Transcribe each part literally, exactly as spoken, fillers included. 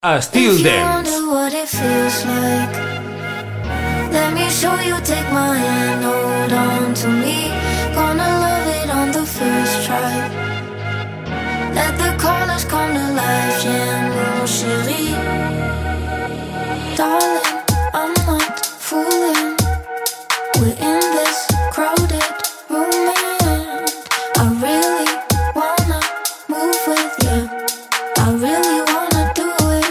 a Still Dance. Let me show you, take my hand, hold on to me. Gonna love it on the first try. Let the colors come to life, yeah, mon chéri. Darling, I'm not fooling. We're in this crowded room and I really wanna move with you. I really wanna do it.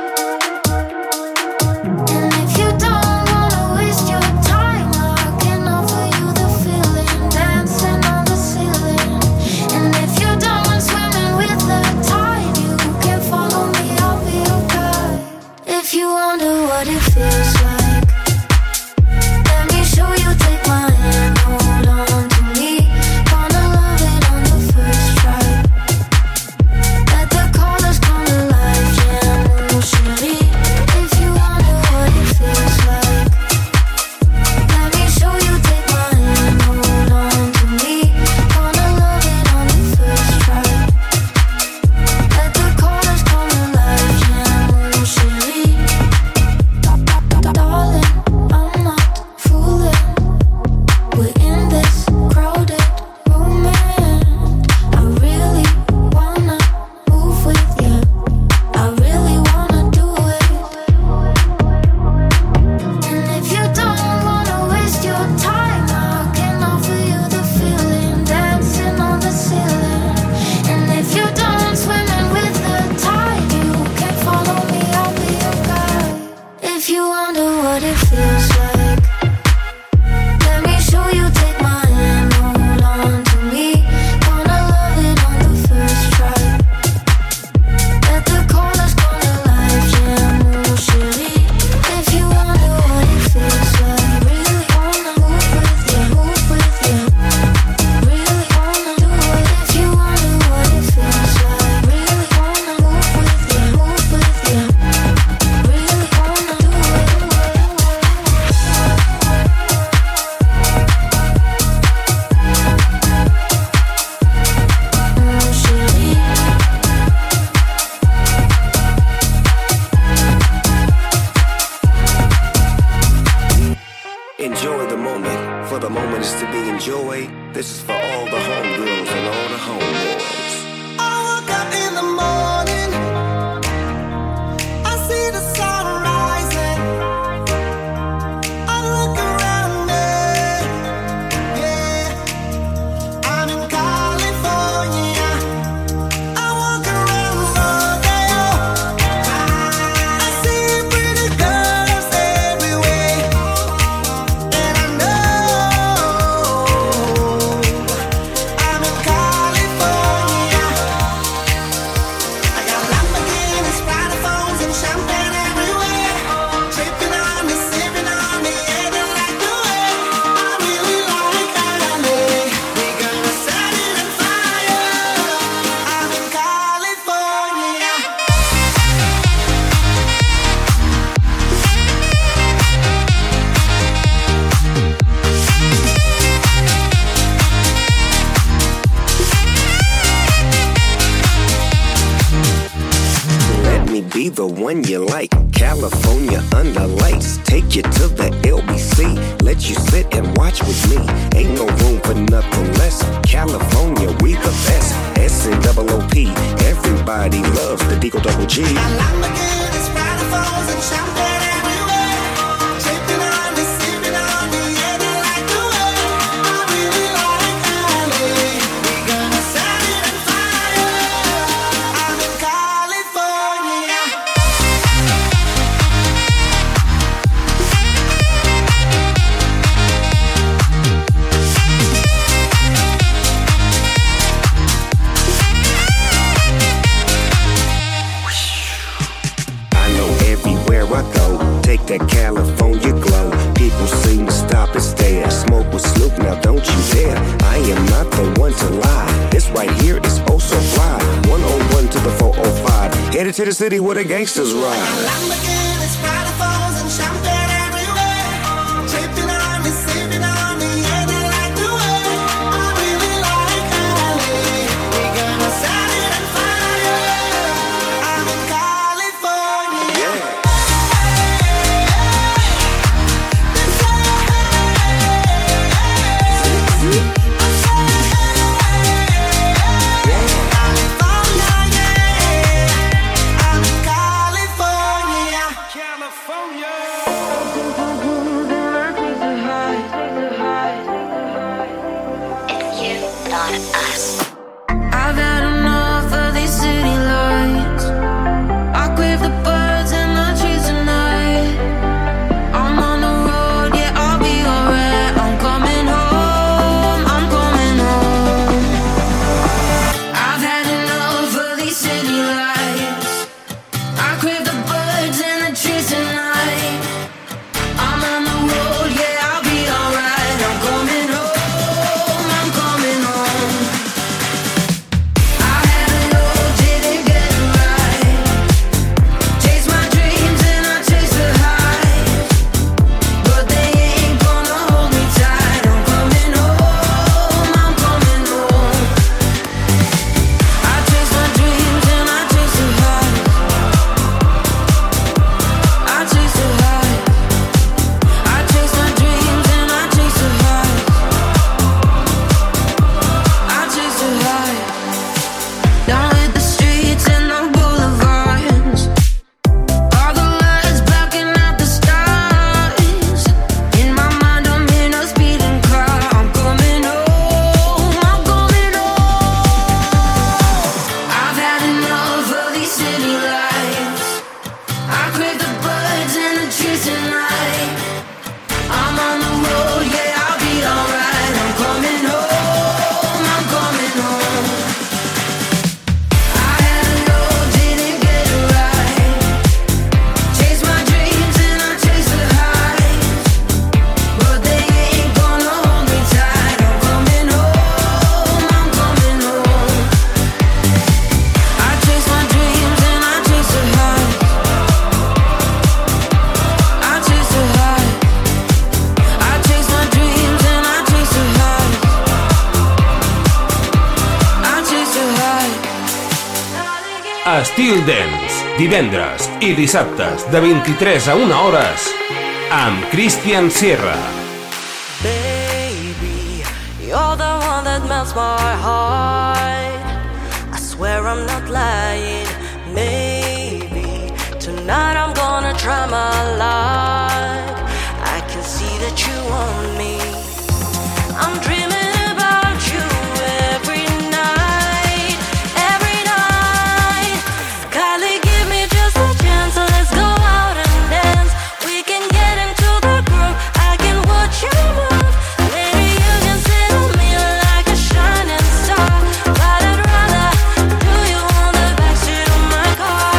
And if you don't wanna waste your time, I can offer you the feeling, dancing on the ceiling. And if you're done swimming with the tide, you can follow me, I'll be your guide. If you wonder what it feels like, let me show you, take my hand, hold on to me. Gonna love it on the first try. Let the colors come to life, yeah, mon chéri. If you wonder what it feels like, let me show you, take my hand, hold on to me. Gonna love it on the first try. Let the colors come to life, yeah, mon chéri. Darling, I'm not fooling. We're in this crowded room and I really wanna move with you. I really wanna do it. And if you don't wanna waste your time, I can offer you the feeling, dancing on the ceiling. And if you're done swimming with the tide, you can follow me, I'll be your guide. If you wonder what it feels like, let me show you, take my hand, hold on to me. Gonna love it on the first try. Let the colors come to life, yeah, mon chéri. If you wonder what it feels like, really wanna move with you, move with you. Really wanna do it. If you wonder what it feels like, really wanna move with you, move with you. Really wanna do it. Mon chéri. Enjoy the moment, for the moment is to be enjoyed. This is for all the homegirls and all the homeboys. I woke up in the morning, I see the sun rising. I look around me, yeah. I'm in California. I walk around Rodeo. I see pretty girls everywhere, and I know I'm in California. I got Lamborghinis, Prada phones, and champagne everywhere. Tripping on me, sipping on me, yeah, they like the way I really like L A. We gonna set it on fire. I'm in California. Let me be the one you like. California under lights. Take you to the L B C. Let you sit and watch with me. Ain't no room for nothing less. California, we the best. S N O O P. Everybody loves the Deagle Double G. Got Lamborghinis, Prada phones, and champagne everywhere. Tripping on me, sipping on me, yeah, they like the way I really like L A. We gonna set it on fire. I'm in California. I know everywhere I go, take that California glow. People seem to stop and stare. Smoke with Snoop, now don't you dare. I am not the one to lie. This right here is oh so fly. one oh one to the four oh five. Headed to the city where the gangsters ride. Lamborghinis, Prada phones, and champagne everywhere. Tripping on me, sipping on me, yeah, they like the way I really like L A. We gonna set it on fire. I'm in California. Estil Dance, divendres i dissabtes de vint-i-tres a una hores amb Christian Sierra. Baby, you're the one that melts my heart. I swear I'm not lying. Maybe tonight I'm gonna try my luck. I can see that you want me. I'm dreaming about you every night, every night. Kylie, give me just a chance, so let's go out and dance. We can get into the groove, I can watch you move. Maybe you can sit on me like a shining star, but I'd rather do you on the backseat of my car.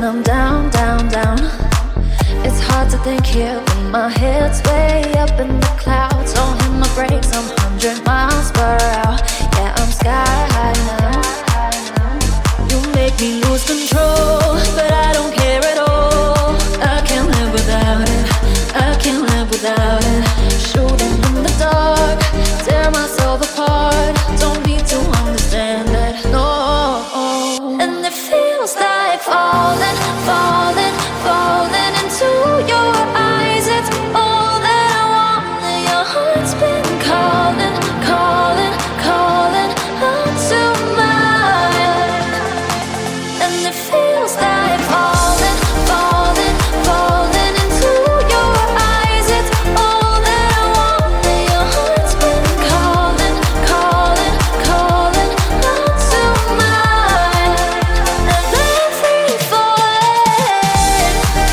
when I'm down, down, down. It's hard to think here when my head's way up in the clouds. Don't hit my brakes, I'm one hundred miles per hour. Yeah, I'm sky high now. You make me lose control, but I don't care at all. I can't live without it, I can't live without it. Shooting in the dark, tear myself apart. Don't need to understand that, no. And it feels like falling, falling, falling into your eyes. It's all that I want. And your heart's been calling, calling, calling out to mine. And it feels like falling, falling, falling into your eyes. It's all that I want. And your heart's been calling, calling, calling out to mine. And I'm free falling.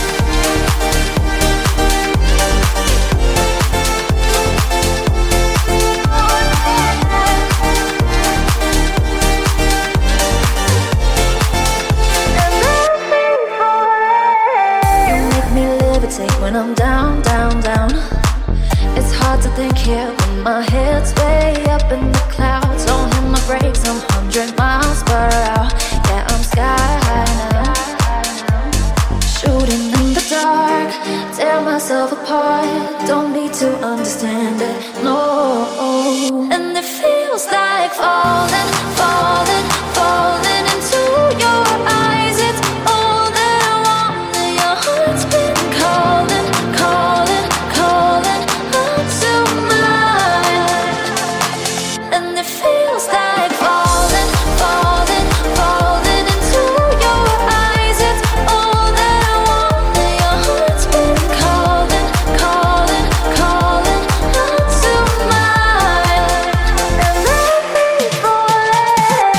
You make me levitate when I'm down, down, down. It's hard to think here when my head's way up in the clouds. Don't hit my brakes, I'm one hundred miles per hour. Yeah, I'm sky high now. Shooting in the dark, tear myself apart. Don't need to understand it, no. And it feels like falling, falling, falling into your eyes. It's all that I want. And your heart's been calling, calling, calling out to mine. And it feels like falling, falling, falling into your eyes. It's all that I want. And your heart's been calling, calling, calling out to mine. And I'm free falling.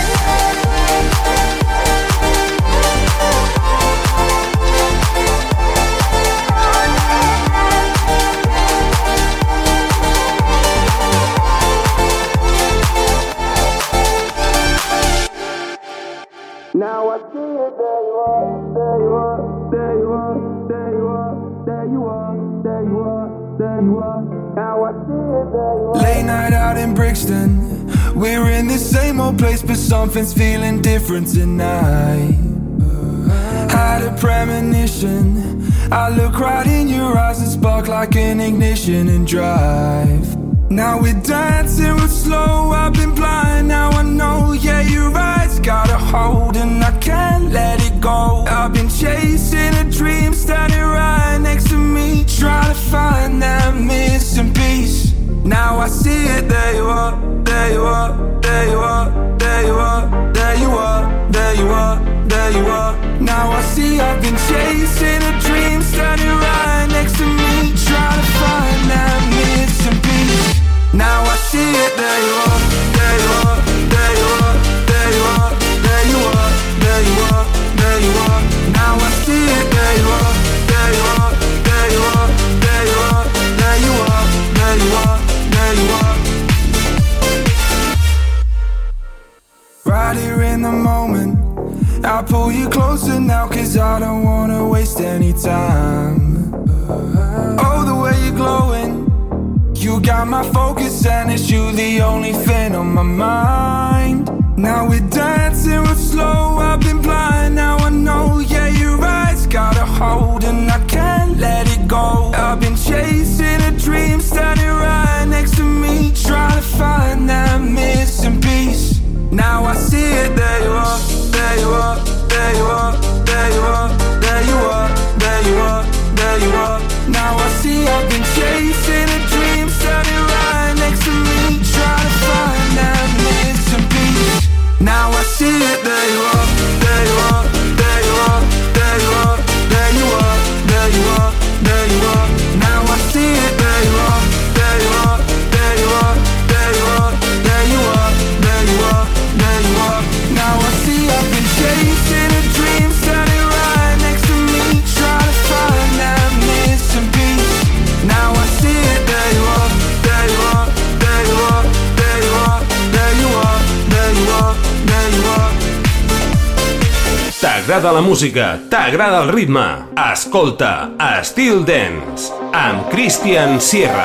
Now I see it, there you are, there you are, there you are, there you are, there you are, there you are, there you are. Now I see it, there you are. Late night out in Brixton, we're in the same old place, but something's feeling different tonight. Had a premonition, I look right in your eyes and spark like an ignition and drive. Now we're dancing real slow, I've been blind, now I know, yeah, your eyes got a hold and I can't let it go. I've been chasing a dream, standing right next to me, trying to find that missing piece. Now I see it, there you are, there you are, there you are, there you are, there you are, there you are, there you are. Now I see I've been chasing a dream, standing right next to me, trying to find that missing piece. Now I see it, there you are, there you are, there you are, there you are, there you are, there you are, there you are. Now I see it, there you are, there you are, there you are, there you are, there you are, there you are, there you are. Right here in the moment, I pull you closer now, cause I don't wanna waste any time. Oh, the way you're glowing, you got my focus and it's you the only thing on my mind. Now we're dancing real slow, I've been blind, now I know, yeah, your eyes got a hold and I can't let it go. I've been chasing a dream, standing right next to me, trying to find that missing piece. Now I see it, there you are, there you are, there you are, there you are, there you are, there you are, there you are. Now I see I've been chasing a dream, standing right next to me, trying to find that missing piece. Now I see it, there you are, there you are, there you are, there you are, there you are, there you are, there you are. Now I see it, there you are, there you are. T'agrada la música, t'agrada el ritme. Escolta Still Dance amb Christian Sierra.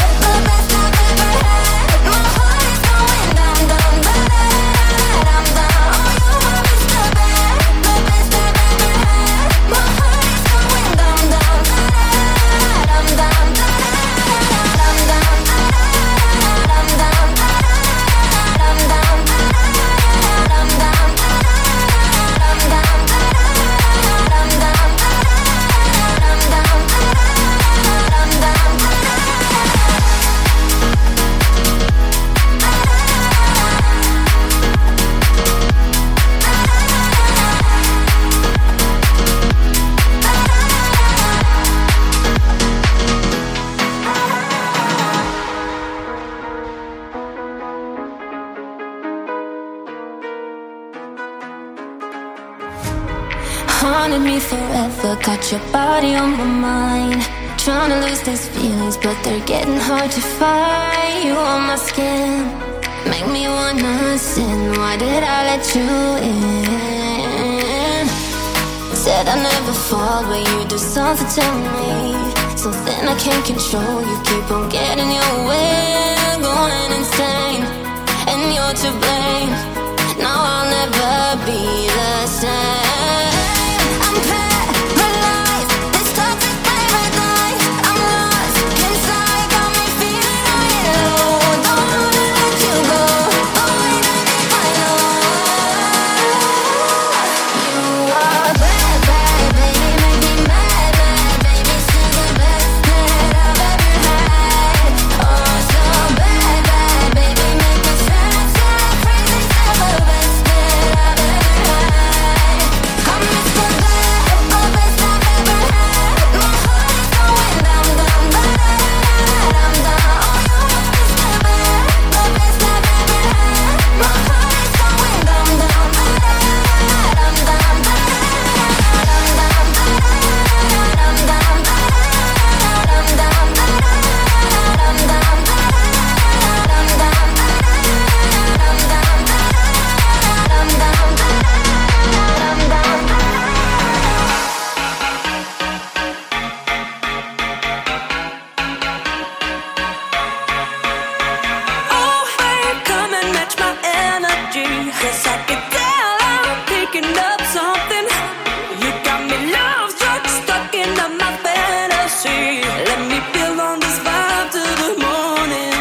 I'm haunted me forever. Got your body on my mind. Trying to lose these feelings, but they're getting hard to find. You on my skin, make me wanna sin. Why did I let you in? Said I never fall, but you do something to me, something I can't control. You keep on getting your way, going insane, and you're to blame. Now I'll never be the same. I'm paralyzed, this toxic paradise. I'm lost inside, got me feeling on it low. Don't wanna let you go, but wait until I know. You are bad, bad, baby, make me mad, mad, baby. Still the best that I've ever had. Oh, so bad, bad, baby, make me sad, sad, crazy. Still the best that I've ever had. I'm Mister Bad, the best I've ever had. My heart is going down, down, da da da da da. Oh, you are Mister Bad, the best I've ever had. My heart is going down, down, da da da da da da. Oh, babe, come and match my energy. 'Cause I can tell I'm picking up something. You got me love struck, stuck into my fantasy. Let me build on this vibe to the morning.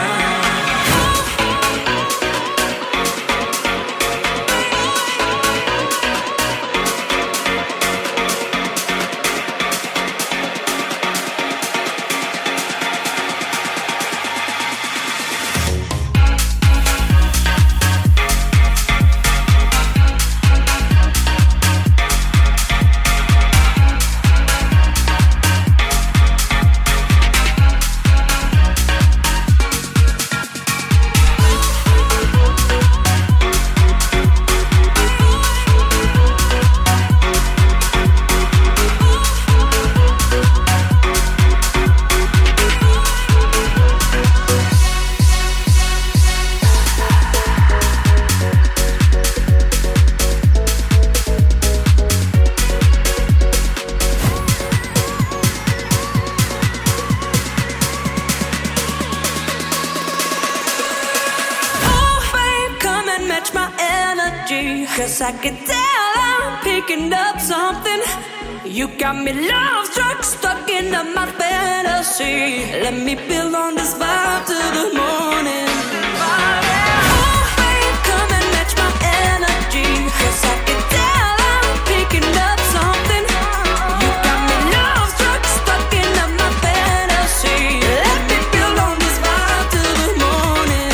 Oh, babe, come and match my energy. 'Cause I can tell I'm picking up something. You got me love struck, stuck into my fantasy. Let me build on this vibe to the morning. Oh, babe, come and match my energy. 'Cause I can tell I'm picking up something. You got me love struck, stuck into my fantasy. Let me build on this vibe to the morning.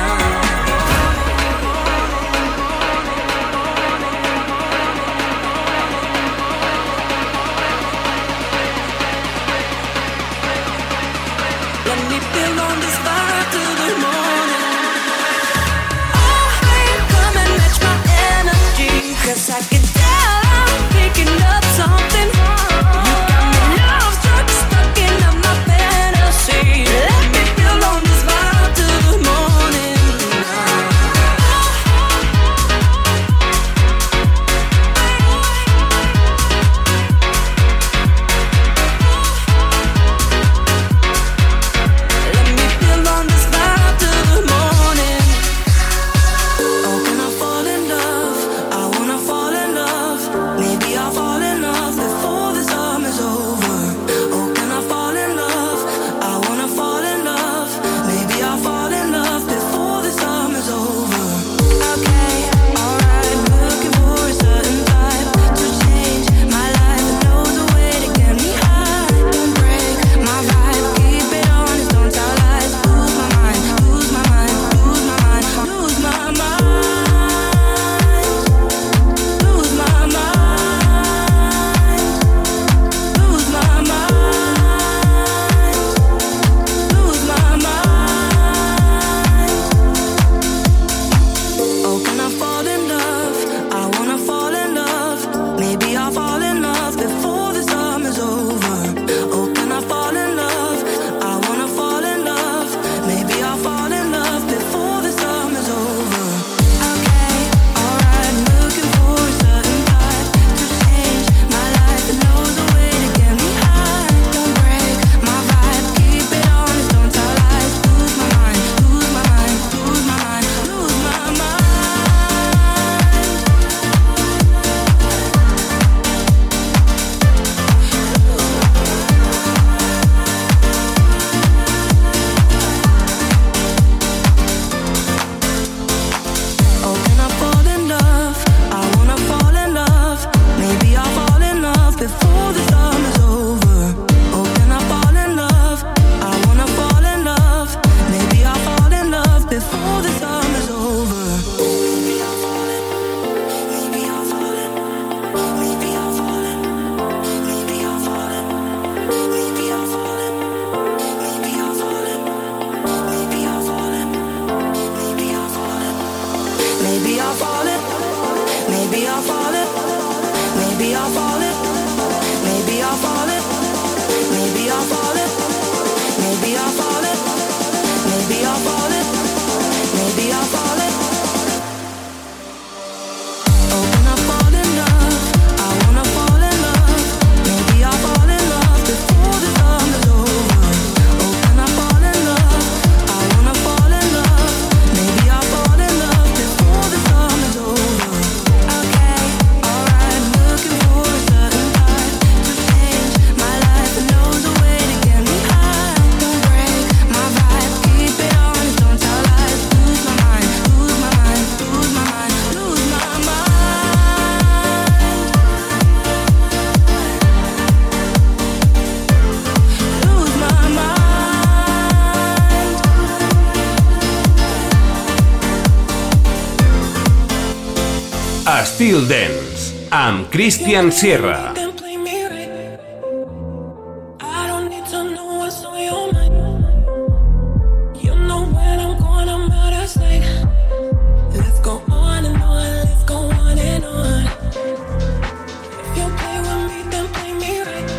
Let me build on this vibe to the morning. Oh, babe, come and match my energy. 'Cause I can tell I'm picking up something. You got me love struck, stuck into my fantasy. Let me build on this vibe to the morning. Let me build on this vibe to the Maybe I'll fall it. Maybe I'll fall it. Maybe I'll fall it. Maybe I'll fall it. Maybe I'll fall it. Maybe I'll fall it. Maybe I'll fall it. Oh, when I fall in love, I wanna fall in love. Maybe I'll fall in love before the summer is over. Oh, when I fall in love, I wanna fall in love. Maybe I'll fall in love before the summer is over. Okay, alright, looking for a certain type to change my life and knows a way to get me high. Don't break my vibe, keep it honest, don't tell lies. Lose my mind, lose my mind, lose my mind, lose my mind. Lose my mind. Estil Dance, amb Christian Sierra. Then play me right. I don't need to know what's on your mind. You know when I'm going, I'm out of sight. Let's go on and on, let's go on and on. If you play with me, then play me right.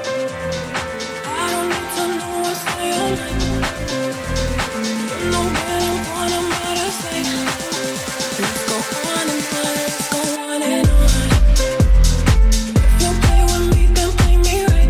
I don't need to know what's on your mind. You know when I'm going, I'm out of sight. Let's go on and on, let's go on and on. If you play with me, then play me right.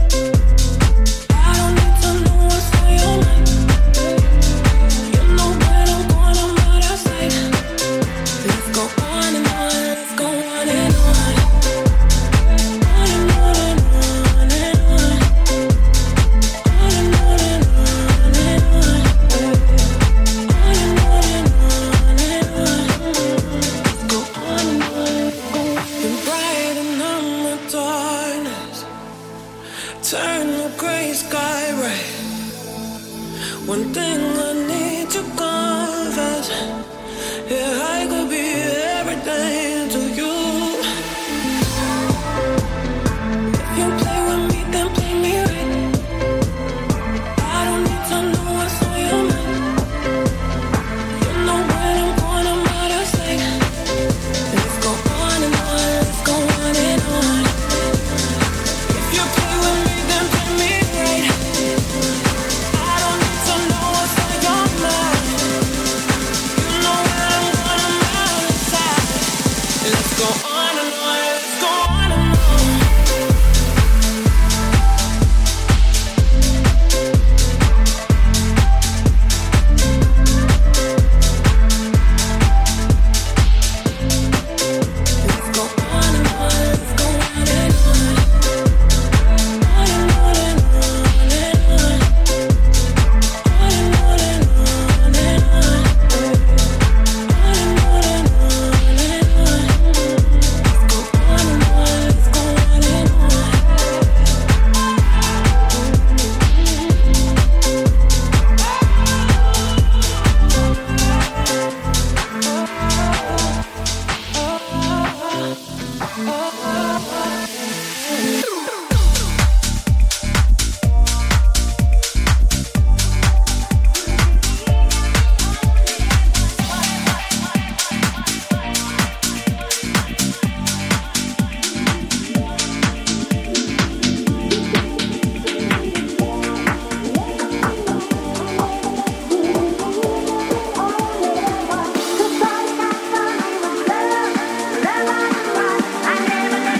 I don't need to know what's on your mind. You know when I'm going, I'm out of sight. Let's go on and on, let's go on and on. On and on and on and on. On and on and on and on. On and on and on and on. Let's go on and on, let's go on. Been brighten up my darkness. Turn the gray sky red. One thing I need to confess. Yeah, I could be everything to you. If you play with me, then play me right. I don't need to know what's on your mind. You know when I'm going, I'm out of sight. Let's go on and on, let's go on and on. If you play with me, then play me right. I don't need to know what's on your mind. You know when I'm going, I'm out of sight. Let's go on and on, let's go on and on. Let's go on and on, let's go on and on. On and on and on and on. On and on and on and on. On and on and on and on. Let's go on and on, let's go on and on. I never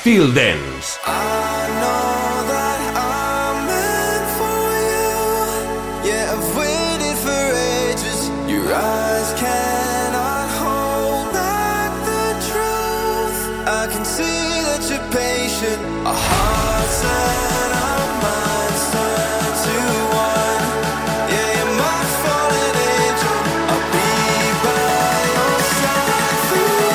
Styl Dance. I know that I'm meant for you. Yeah, I've waited for ages. Your eyes cannot hold back the truth. I can see that you're patient. Our hearts and our minds turn to one. Yeah, you're my fallen angel. I'll be by your side through.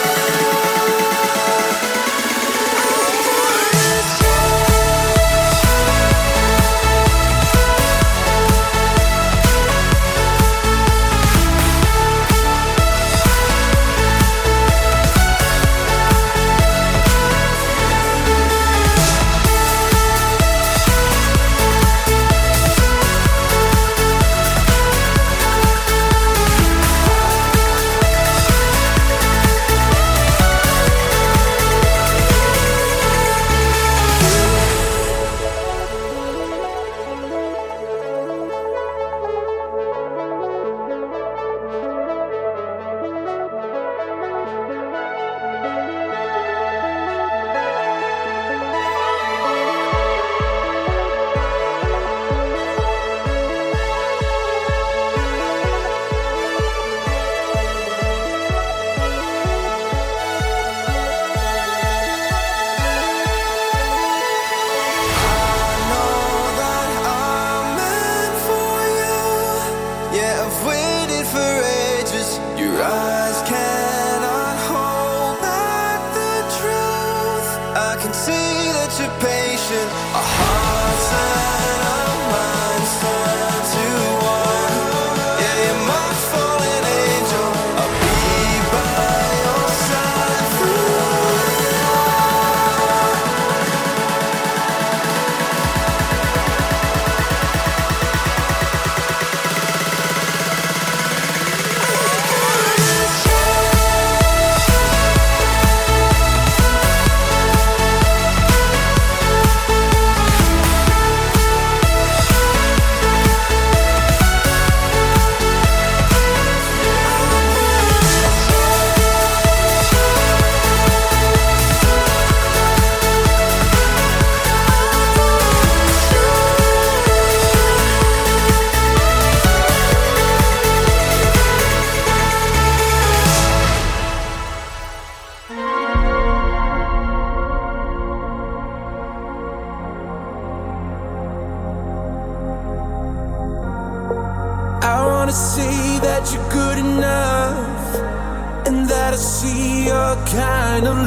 See that you're good enough, and that I see your kind of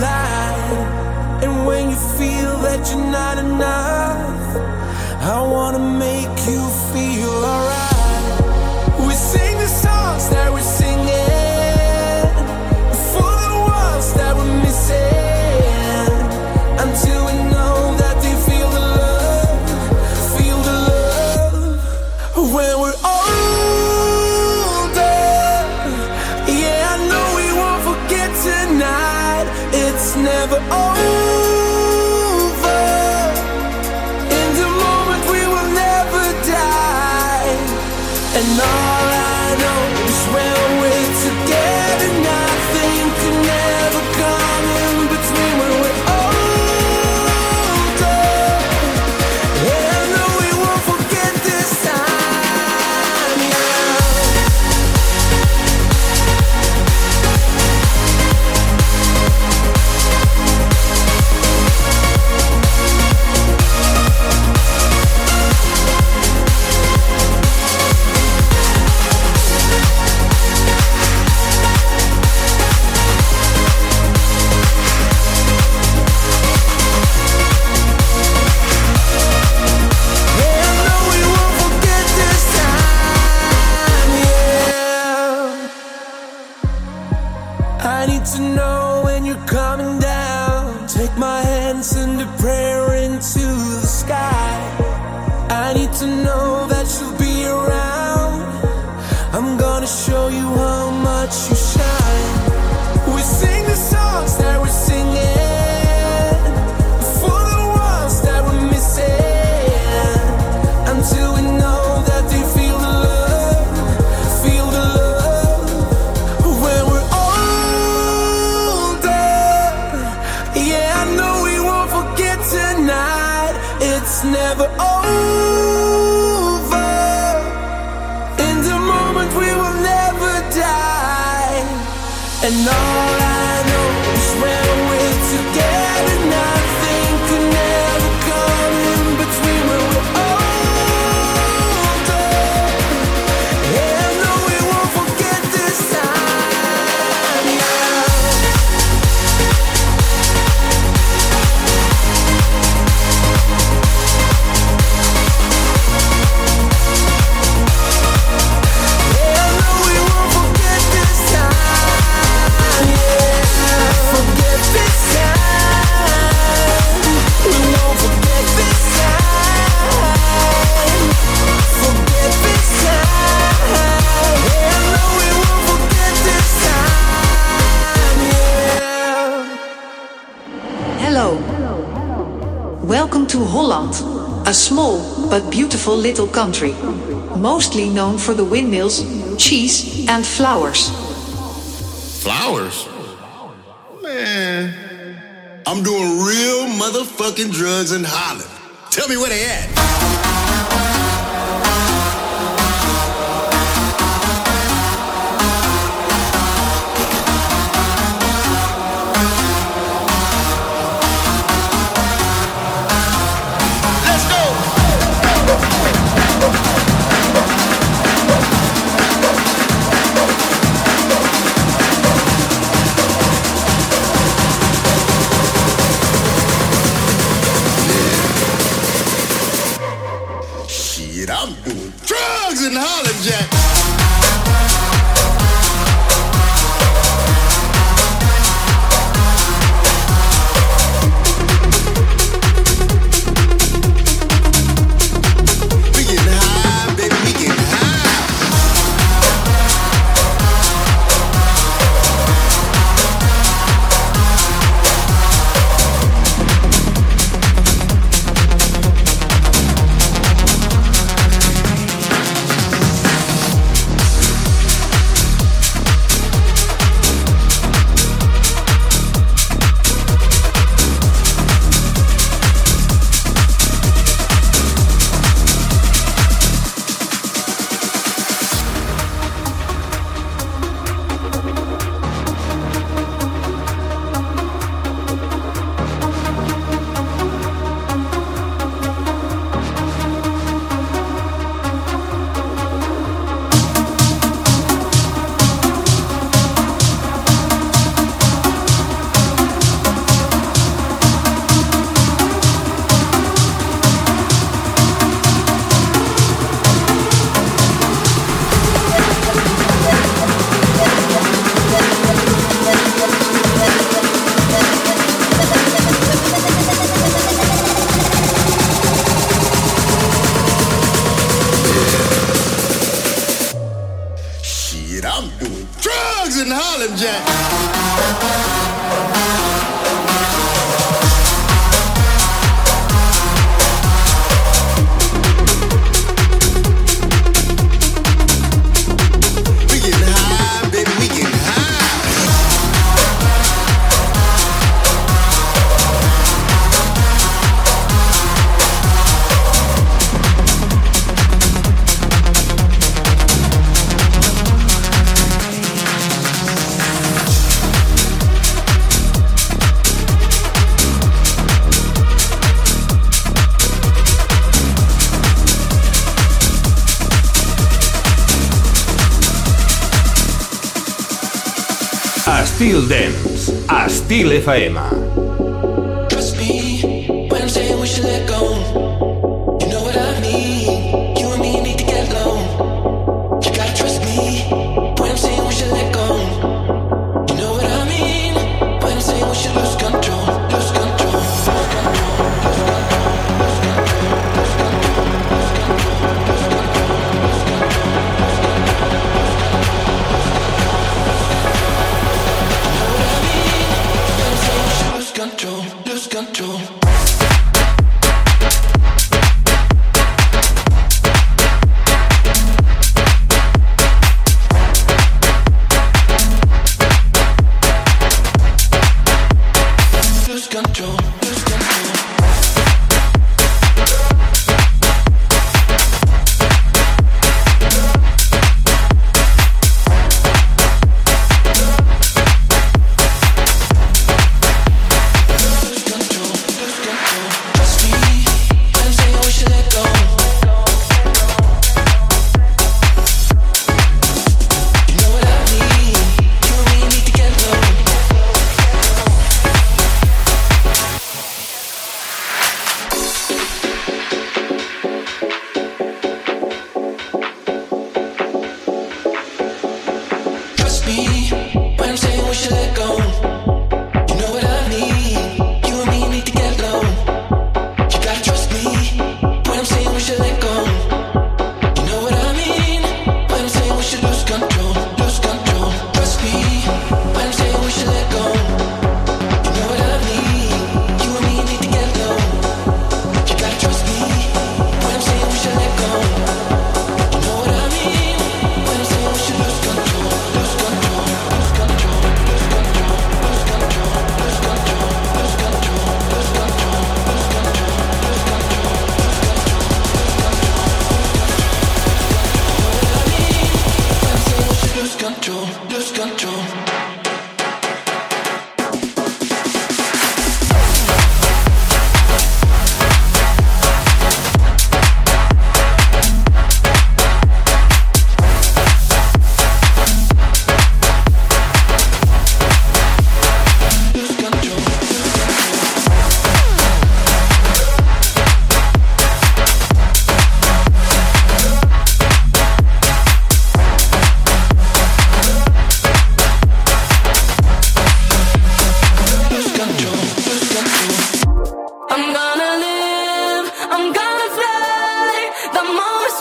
light. And when you feel that you're not enough, I wanna make you feel alright. We sing the songs that we're singing for the ones that we're missing, until we know that they feel the love, feel the love when we're all. It's never over. In the moment we will never die. And all I know is when we're together, nothing can ever come in between when we're older. And I know we won't forget this time, yeah. To know when you're coming down, take my hand, send a prayer into the sky. I need to know that you'll be around. I'm gonna show you how much you shine. We sing the songs that we're singing for the ones that we're missing, until we know that they feel the love, feel the love when we're all. Yeah, I know we Holland, a small but beautiful little country, mostly known for the windmills, cheese and flowers. Flowers? Man, I'm doing real motherfucking drugs in Holland. Tell me where they at. I'm doing drugs in Holland, Jack. We getting high, baby, we getting Estil Dance, a Estil F M. Trust me when I'm saying we should let go. You know what I mean. You and me need to get low. You gotta trust me when I'm saying we should let go. You know what I mean when I'm saying we should lose control, lose control, lose control, lose control, lose control, lose control, lose control.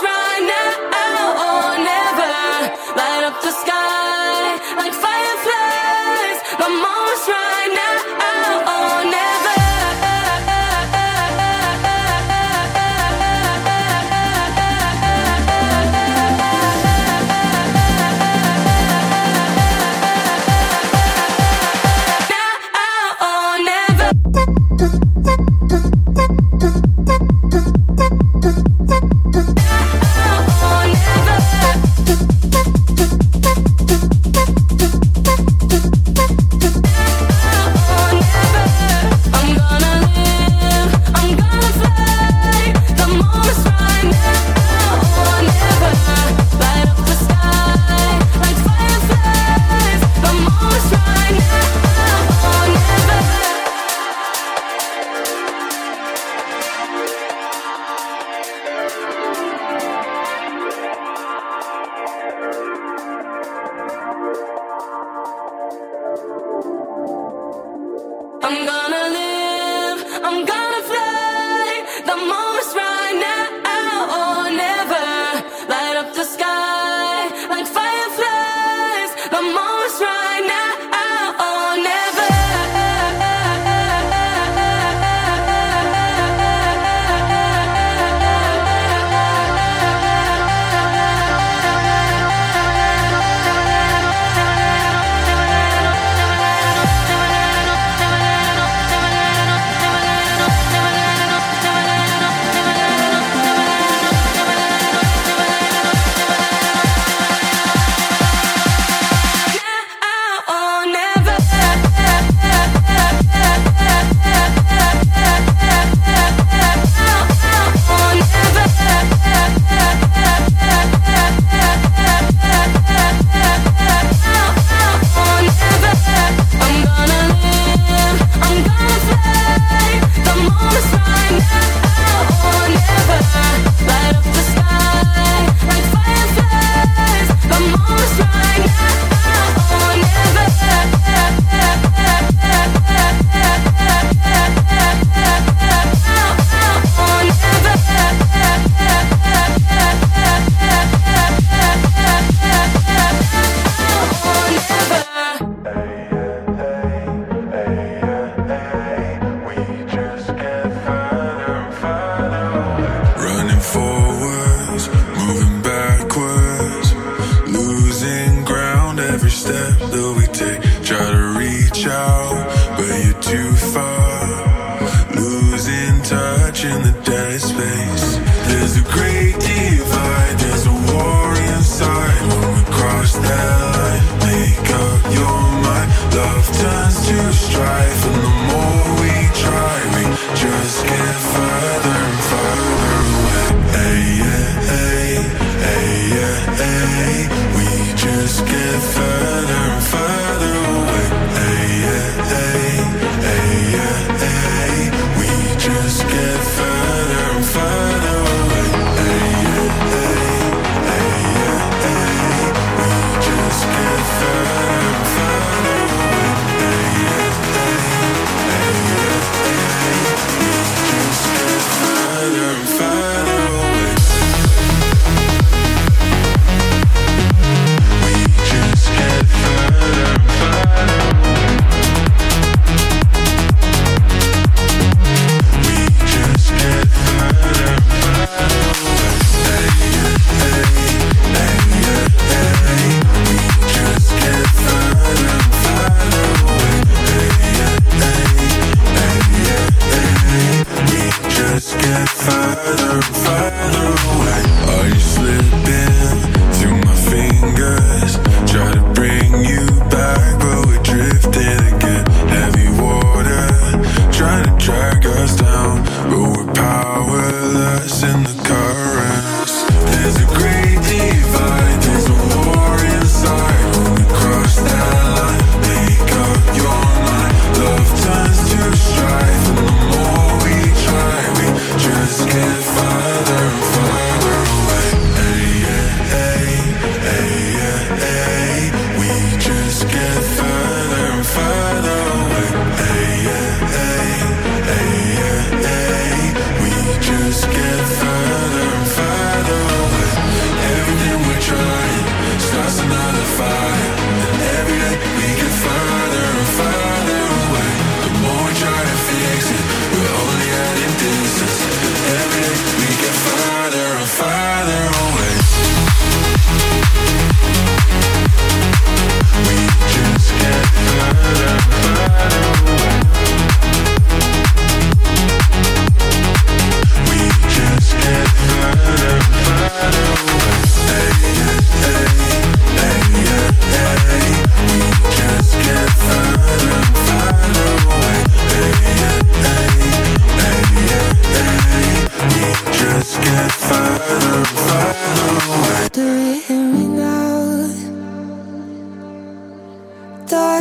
right now or never. Light up the sky like fireflies. My moments right now or never.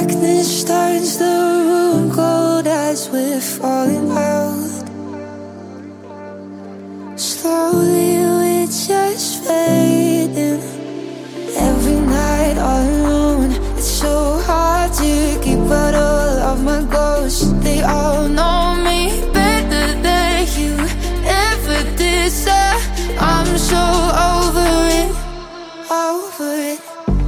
darkness turns the room cold as we're falling out. Slowly we're just fading. Every night all alone, it's so hard to keep out all of my ghosts. They all know me better than you ever did, sir. I'm so over it, over it.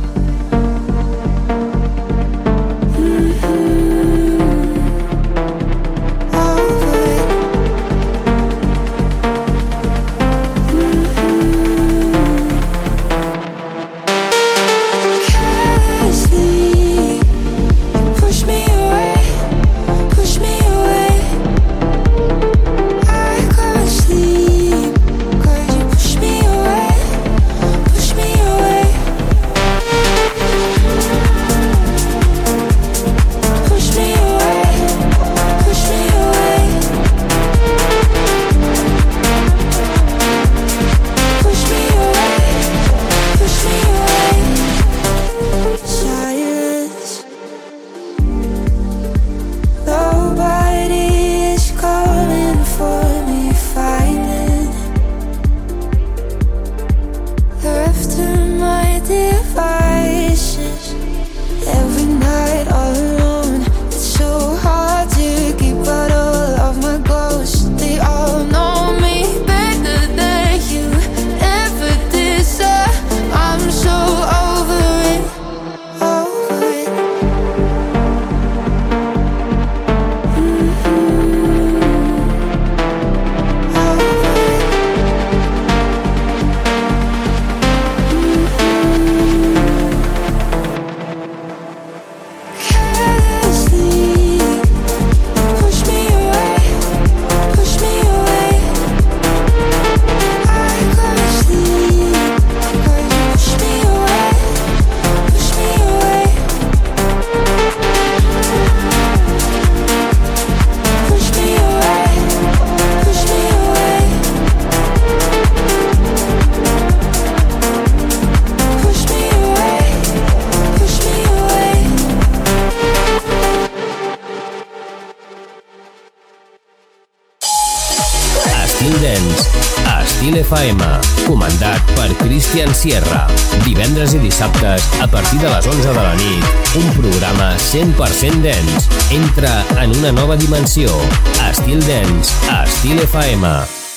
F M, comandat per Christian Sierra. Divendres i dissabtes, a partir de les onze de la nit, un programa cent per cent dance. Entra en una nova dimensió. Estil Dance, a Estil F M.